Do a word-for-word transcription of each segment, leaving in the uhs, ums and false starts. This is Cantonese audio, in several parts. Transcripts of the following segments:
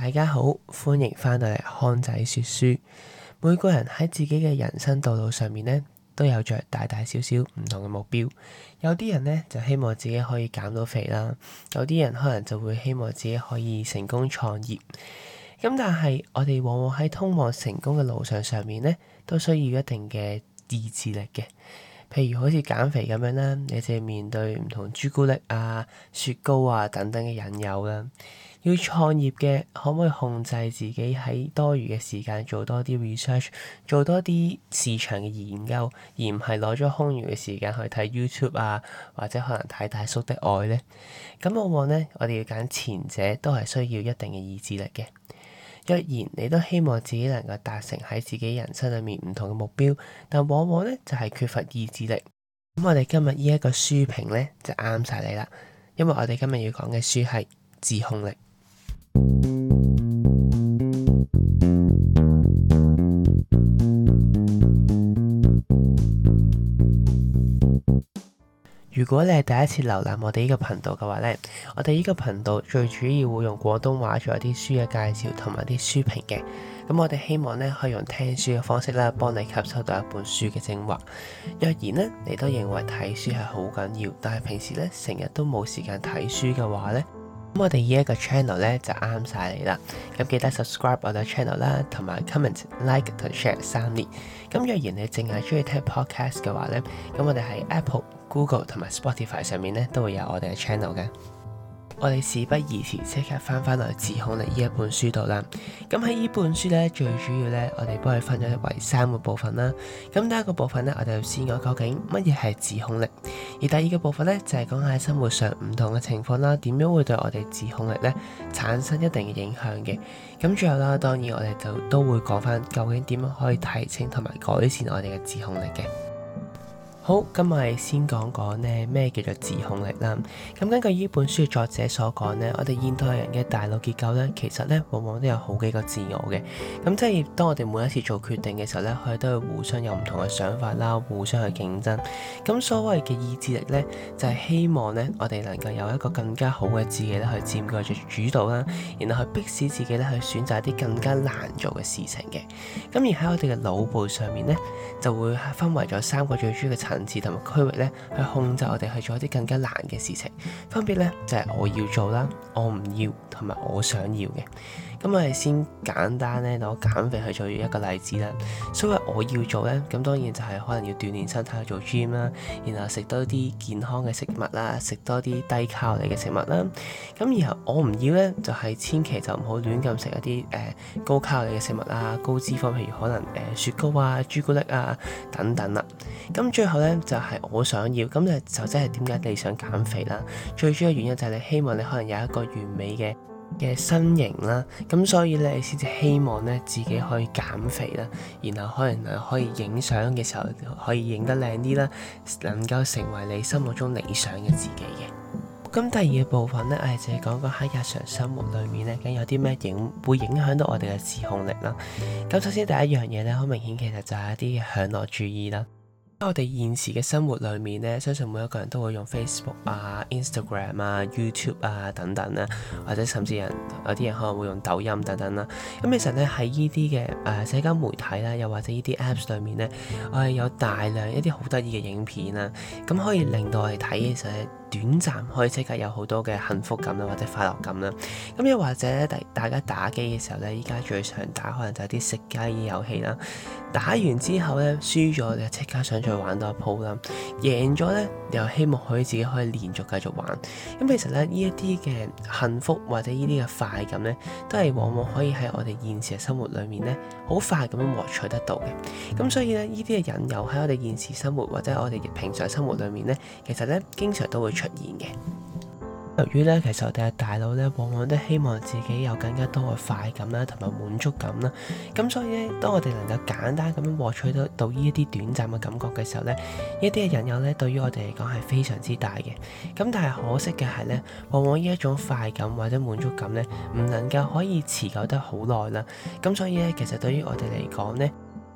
大家好，歡迎翻到嚟康仔說書。每個人喺自己嘅人生道路上面咧，都有着大大小小唔同嘅目標。有啲人咧就希望自己可以減到肥啦，有啲人可能就會希望自己可以成功創業。咁但係我哋往往喺通往成功嘅路上上面咧，都需要一定嘅意志力嘅。譬如好似減肥咁樣啦，你就要面對唔同朱古力啊、雪糕啊等等嘅引誘啦。要創業嘅，可唔可以控制自己喺多餘嘅時間做多啲 research， 做多啲市場嘅研究，而唔係攞咗空餘嘅時間去睇 YouTube 啊，或者可能睇大叔的愛呢？咁往往呢，我哋要揀前者，都係需要一定嘅意志力嘅。若然你都希望自己能夠達成喺自己人生裏面唔同嘅目標，但往往呢就係缺乏意志力。咁我哋今日呢一個書評呢，就啱晒你啦，因為我哋今日要講嘅書係自控力。如果你係第一次瀏覽我哋呢個頻道嘅話呢，我哋呢個頻道最主要會用廣東話做一啲書嘅介紹同埋啲書評嘅。咁我哋希望呢可以用聽書嘅方式啦，幫你吸收到一本書嘅精華。若然呢，你都認為睇書係好緊要，但係平時呢成日都冇時間睇書嘅話呢，咁我哋呢一個 channel 咧就啱晒你啦。咁記得 subscribe 我哋 channel 啦，同埋 comment、like 同 share 三連。咁若然你淨係中意聽 podcast 嘅話咧，咁我哋喺 Apple、Google 同埋 Spotify 上面咧都會有我哋嘅 channel 嘅。我哋事不宜遲，即刻翻翻嚟自控力呢一本書度啦。咁喺呢本書咧，最主要咧，我哋幫佢分咗為三個部分啦。咁第一個部分咧，我哋就先講究竟乜嘢係自控力，而第二個部分咧就係講喺生活上唔同嘅情況啦，點樣會對我哋自控力咧產生一定嘅影響嘅。咁最後啦，當然我哋就都會講翻究竟點樣可以提升同埋改善我哋嘅自控力嘅。好，今日我哋先講講呢咩叫做自控力啦。咁根據呢本書嘅作者所講呢，我哋現代人嘅大腦結構呢，其實呢往往都有好幾個自我嘅。咁即係當我哋每一次做決定嘅時候呢，佢哋都會互相有唔同嘅想法啦，互相去競爭。咁所謂嘅意志力呢，就係希望呢我哋能夠有一個更加好嘅自己咧去佔據住主導啦，然後去迫使自己咧去選擇一啲更加難做嘅事情嘅。咁而喺我哋嘅腦部上面呢，就會分為咗三個最主要嘅層次同埋區域咧，去控制我哋去做一啲更加難嘅事情。分別咧就係我要做啦，我唔要同埋我想要嘅。咁我哋先簡單咧攞減肥去做一個例子啦。所謂我要做咧，咁當然就係可能要鍛鍊身體去做 gym 啦，然後食多啲健康嘅食物啦，食多啲低卡路里嘅食物啦。咁然後我唔要咧，就係千祈就唔好亂咁食一啲誒、呃、高卡路里嘅食物啊，高脂肪，譬如可能誒、呃、雪糕啊、朱古力啊等等啦。咁最後咧就係、是、我想要，咁就就即係點解你想減肥啦？最主要原因就係你希望你可能有一個完美嘅嘅身形啦，咁所以咧你先至希望咧自己可以減肥啦，然後可能可以影相嘅時候可以影得靚啲啦，能夠成為你心目中理想嘅自己嘅。咁第二個部分咧，我哋就係講講喺日常生活裏面咧，咁有啲咩影會影響到我哋嘅自控力啦。咁首先第一樣嘢咧，好明顯其實就係一啲享樂主義啦。喺我哋現時嘅生活裏面咧，相信每一個人都會用 Facebook 啊、Instagram 啊、YouTube 啊等等啦，或者甚至人有啲人可能會用抖音等等啦。咁其實咧喺呢啲嘅誒社交媒體啦，又或者呢啲 Apps 裏面咧，我係有大量一啲好得意嘅影片啦，咁可以令到我哋睇嘅時候咧，短暫可以即刻有好多嘅幸福感啦，或者快樂感啦。咁又或者咧，大大家打機嘅時候咧，依家最常打可能就係啲食雞遊戲啦。打完之後咧，輸咗就即刻想再玩多一鋪啦。贏咗咧，又希望可以自己可以連續繼續玩。咁其實咧，呢一啲嘅幸福或者呢啲嘅快感咧，都係往往可以喺我哋現實嘅生活裏面咧，好快咁樣獲取得到嘅。咁所以咧，呢啲嘅引誘喺我哋現實生活或者我哋平常生活裏面咧，其實咧經常都會出現嘅。由於咧，其實我哋嘅大腦咧，往往都希望自己有更加多嘅快感啦，同埋滿足感啦。咁所以咧，當我哋能夠簡單咁樣獲取到到呢一啲短暫嘅感覺嘅時候咧，呢一啲嘅引誘咧，對於我哋嚟講係非常之大嘅。咁但係可惜嘅係咧，往往呢一種快感或者滿足感咧，唔能夠可以持久得好耐啦。咁所以咧，其實對於我哋嚟講咧，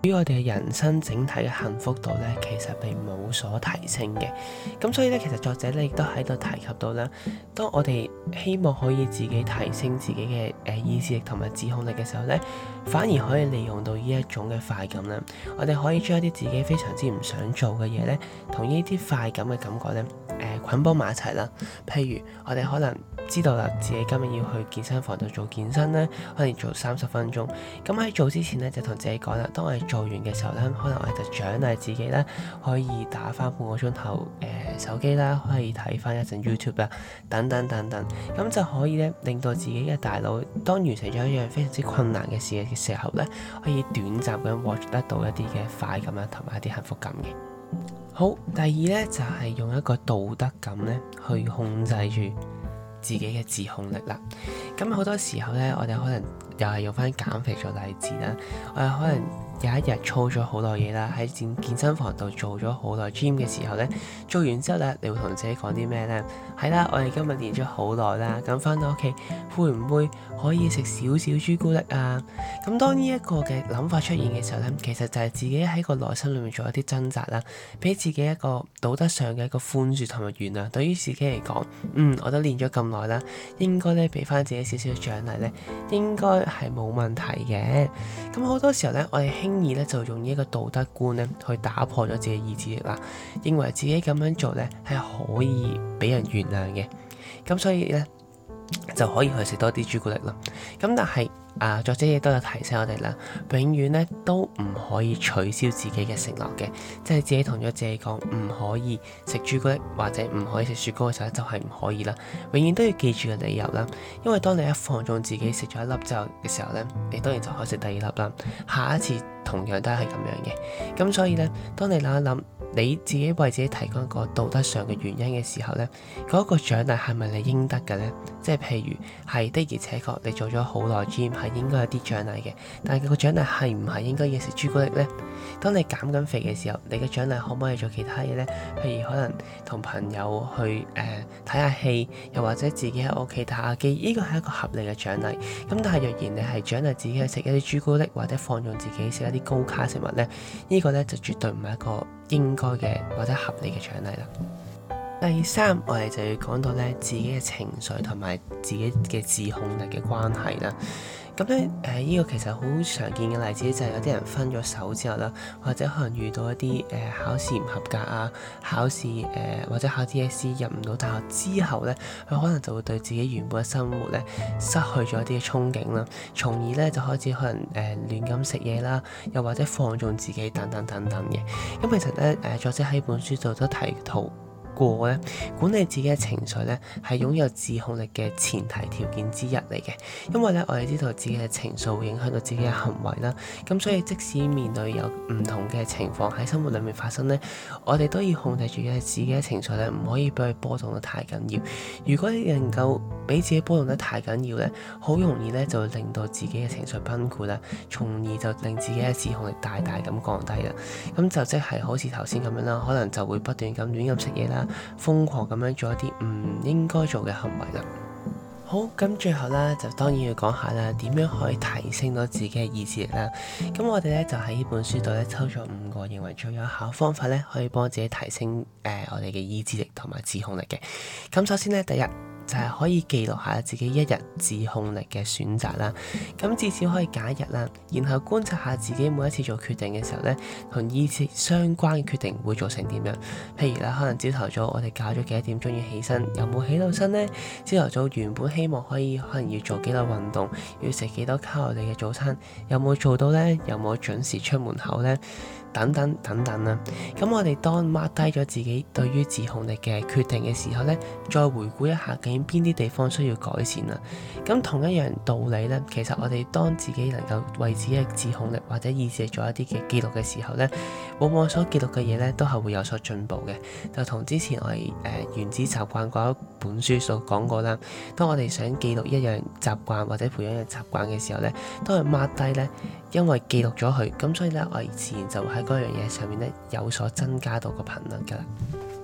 對於我哋嘅人生整體嘅幸福度咧，其實並冇所提升嘅。咁所以咧，其實作者咧亦都喺度提及到啦，當我哋希望可以自己提升自己嘅誒意志力同埋自控力嘅時候咧，反而可以利用到呢一種嘅快感啦。我哋可以將一啲自己非常之唔想做嘅嘢咧，同呢啲快感嘅感覺咧，誒、呃、捆綁埋一齊啦。譬如我哋可能知道啦，自己今日要去健身房度做健身咧，可能做三十分鐘。咁喺做之前咧，就同自己講啦，當我哋做完嘅時候咧，可能我哋就獎勵自己啦，可以打翻半個鐘頭誒手機啦，可以睇翻一陣 YouTube 啦，等等等等。咁就可以咧，令到自己嘅大腦當完成咗一樣非常之困難嘅事嘅時候咧，可以短暫咁獲得到一啲嘅快感啦，同埋一啲幸福感嘅。好，第二咧就係用一個道德感咧去控制住自己嘅自控力啦。咁好多時候咧，我哋可能又係用翻減肥做例子啦，我哋可能有一日操咗好耐嘢啦，喺健健身房度做咗好耐 gym 嘅時候咧，做完之後咧，你會同自己講啲咩咧？係啦，我哋今日練咗好耐啦，咁翻到屋企會唔會可以食少少朱古力啊？咁當呢一個嘅諗法出現嘅時候咧，其實就係自己喺個內心裏面做一啲掙扎啦，俾自己一個道德上嘅一個寬恕同埋原諒。對於自己嚟講，嗯，我都練咗咁耐啦，應該咧俾翻自己少少獎勵咧，應該係冇問題嘅。咁好多時候咧，我哋輕易咧就用呢一個道德觀咧去打破咗自己意志力啦，認為自己咁樣做咧係可以俾人原諒嘅，咁所以咧就可以去食多啲朱古力啦。咁但係啊，作者亦都有提醒我哋啦，永遠咧都唔可以取消自己嘅承諾嘅，即係自己同咗自己講唔可以食朱古力或者唔可以食雪糕嘅時候就係唔可以啦。永遠都要記住嘅理由啦，因為當你一放縱自己食咗一粒之後嘅時候咧，你當然就可以食第二粒啦。下一次同樣都係咁樣嘅。咁所以咧，當你諗一諗你自己為自己提供一個道德上嘅原因嘅時候咧，嗰個獎勵係咪你應得嘅咧？即係譬如係的而且確你做咗好耐 gym 係應該有啲獎勵嘅，但係個獎勵係唔係應該要食朱古力咧？當你減緊肥嘅時候，你嘅獎勵可唔可以做其他嘢咧？譬如可能同朋友去誒睇下戲，又或者自己喺屋企打下機，呢個係一個合理嘅獎勵。咁但係若然你係獎勵自己去食一啲朱古力，或者放縱自己食一啲高卡食物咧，呢個咧就絕對唔係一個應該嘅或者合理嘅獎勵啦。第三，我哋就要講到咧自己嘅情緒同埋自己嘅自控力嘅關係啦。咁咧誒呢個其實好常見嘅例子就係有啲人分咗手之後啦，或者可能遇到一啲誒、呃、考試唔合格啊，考試誒、呃、或者考 D S E 入唔到大學之後咧，佢可能就會對自己原本嘅生活咧失去咗一啲嘅憧憬啦，從而咧就開始可能誒、呃、亂咁食嘢啦，又或者放縱自己等等等等嘅。咁其實咧誒作者喺本書度都提到過咧，管理自己嘅情緒咧，係擁有自控力嘅前提條件之一嚟嘅。因為咧，我哋知道自己嘅情緒會影響到自己嘅行為啦。咁所以即使面對有唔同嘅情況喺生活裏面發生咧，我哋都要控制住嘅自己嘅情緒咧，唔可以俾佢波動得太緊要。如果你能夠俾自己波動得太緊要咧，好容易咧就會令到自己嘅情緒崩潰啦，從而就令自己嘅自控力大大咁降低啦。咁就即係好似頭先咁樣啦，可能就會不斷咁亂咁食嘢啦，瘋狂咁樣做一啲唔應該做嘅行為啦。好，咁最後啦，就當然要講下啦，點樣可以提升到自己嘅意志力啦。咁我哋咧就喺呢本書度咧抽咗五個認為最有效方法咧，可以幫自己提升誒、呃、我哋嘅意志力同埋自控力嘅。咁首先咧，第一就係可以記錄下自己一日自控力嘅選擇啦。咁至少可以揀一日啦，然後觀察下自己每一次做決定嘅時候咧，同意志相關嘅決定會做成點樣。譬如啦，可能朝頭早我哋校咗幾多點鐘要起身，有冇起到身呢？朝頭早原本希望可以可能要做幾多運動，要食幾多卡路里嘅早餐，有冇做到呢？有冇準時出門口呢？等等等等啦。咁我哋當 mark 低咗自己對於自控力嘅決定嘅時候咧，再回顧一下究竟邊啲地方需要改善啦。咁同一樣道理咧，其實我哋當自己能夠為自己嘅自控力或者意志力做一啲嘅記錄嘅時候咧，往往所記錄嘅嘢咧都係會有所進步嘅。就同之前我哋誒、呃、原子習慣嗰一本書所講過啦，當我哋想記錄一樣習慣或者培養一樣習慣嘅時候咧，當佢 mark 低咧，因為記錄咗佢，咁所以咧我哋自然就會喺嗰樣嘢上面咧有所增加到個頻率噶啦。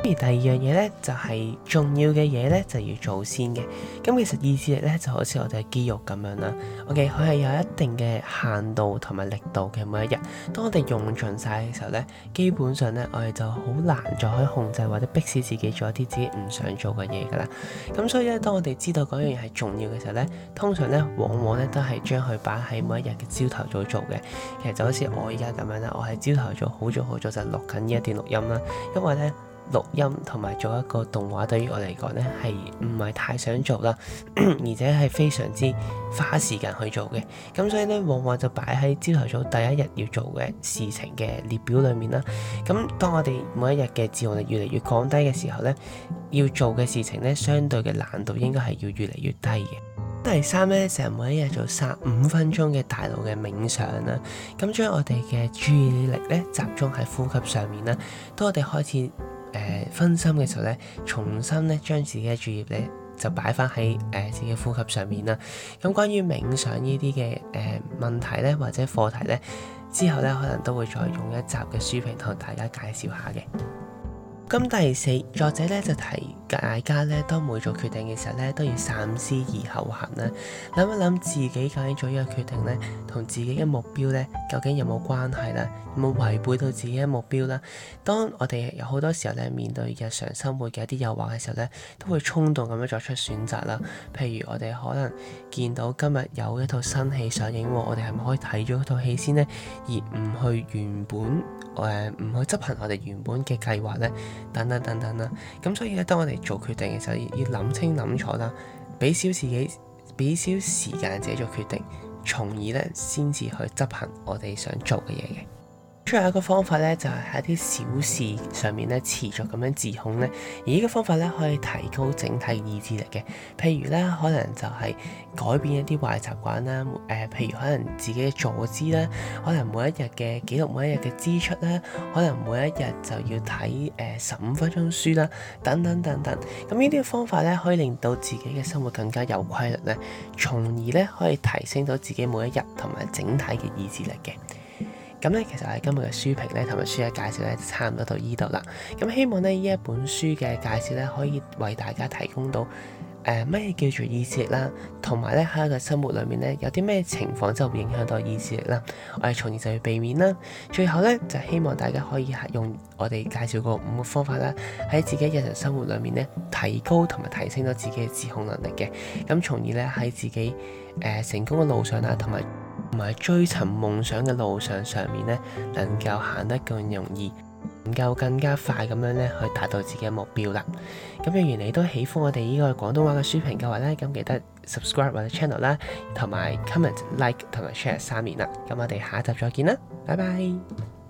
而第二樣嘢咧就係重要嘅嘢咧就要做先嘅。咁其實意志力咧就好似我哋嘅肌肉咁樣啦。OK，佢係有一定嘅限度同埋力度嘅。每一日，當我哋用盡晒嘅時候咧，基本上咧我哋就好難再可以控制或者逼使自己做一啲自己唔想做嘅嘢噶啦。咁所以咧，當我哋知道嗰樣嘢係重要嘅時候咧，通常咧往往咧都係將佢擺喺每一日嘅朝頭早做嘅。其實就好似我而家咁樣啦，我係朝頭早好早好早就錄緊呢一段錄音啦，因為咧。錄音同埋做一個動畫對於我嚟講咧係唔係太想做啦，而且係非常之花時間去做嘅。咁所以咧，往往就擺喺朝頭早第一日要做嘅事情嘅列表裏面啦。咁當我哋每一日嘅自控力越嚟越降低嘅時候咧，要做嘅事情咧，相對嘅難度應該係要越嚟越低嘅。第三咧，成日每一日做三五分鐘嘅大腦嘅冥想啦，咁將我哋嘅注意力咧集中喺呼吸上面啦。當我哋開始誒、呃、分心嘅時候咧，重新咧將自己嘅注意力咧就擺翻喺誒自己呼吸上面啦。咁關於冥想呢啲嘅誒問題咧或者課題咧，之後咧可能都會再用一集嘅書評同大家介紹下嘅。咁第四，作者咧就提大家咧，當每做決定嘅時候咧，都要三思而後行啦。諗一諗自己究竟做呢個決定咧，同自己嘅目標咧，究竟有冇關係啦？有冇違背到自己嘅目標啦？當我哋有好多時候咧，面對日常生活嘅一啲誘惑嘅時候咧，都會衝動咁樣作出選擇啦。譬如我哋可能見到今日有一套新戲上映，我哋係咪可以睇咗套戲先呢？而唔去原本誒唔、呃、去執行我哋原本嘅計劃咧？等等等等啦，咁所以咧，當我哋做決定嘅時候，要諗清諗楚啦，俾少自己，俾少時間自己做決定，從而咧先至去執行我哋想做嘅嘢嘅。最後一個方法咧，就係喺一啲小事上面咧持續咁樣自控咧，而呢個方法咧可以提高整體意志力嘅。譬如咧，可能就係改變一啲壞習慣啦，誒、呃，譬如可能自己嘅坐姿啦，可能每一日嘅記錄每一日嘅支出啦，可能每一日就要睇誒十五分鐘書啦，等等等等。咁呢啲嘅方法咧，可以令到自己嘅生活更加有規律咧，從而咧可以提升到自己每一日同埋整體嘅意志力嘅。咁咧，其實係今日嘅書評咧，同埋書嘅介紹咧，就差唔多到依度啦。咁希望咧，呢一本書嘅介紹咧，可以為大家提供到誒咩叫做意志力啦，同埋咧喺一個生活裏面咧，有啲咩情況就會影響到意志力啦。我哋從而就要避免啦。最後咧，就希望大家可以用我哋介紹過五個方法啦，喺自己日常生活裏面咧，提高同埋提升咗自己嘅自控能力嘅。咁從而咧喺自己誒、呃、成功嘅路上啦，同埋同埋追尋夢想嘅路上上面咧，能夠行得更容易，能夠更加快咁樣咧去達到自己嘅目標啦。咁若然你都喜歡我哋呢個廣東話嘅書評嘅話咧，咁記得 subscribe 我哋 channel 啦，同埋 comment、like 同埋 share 三連啦。咁我哋下一集再見啦，拜拜。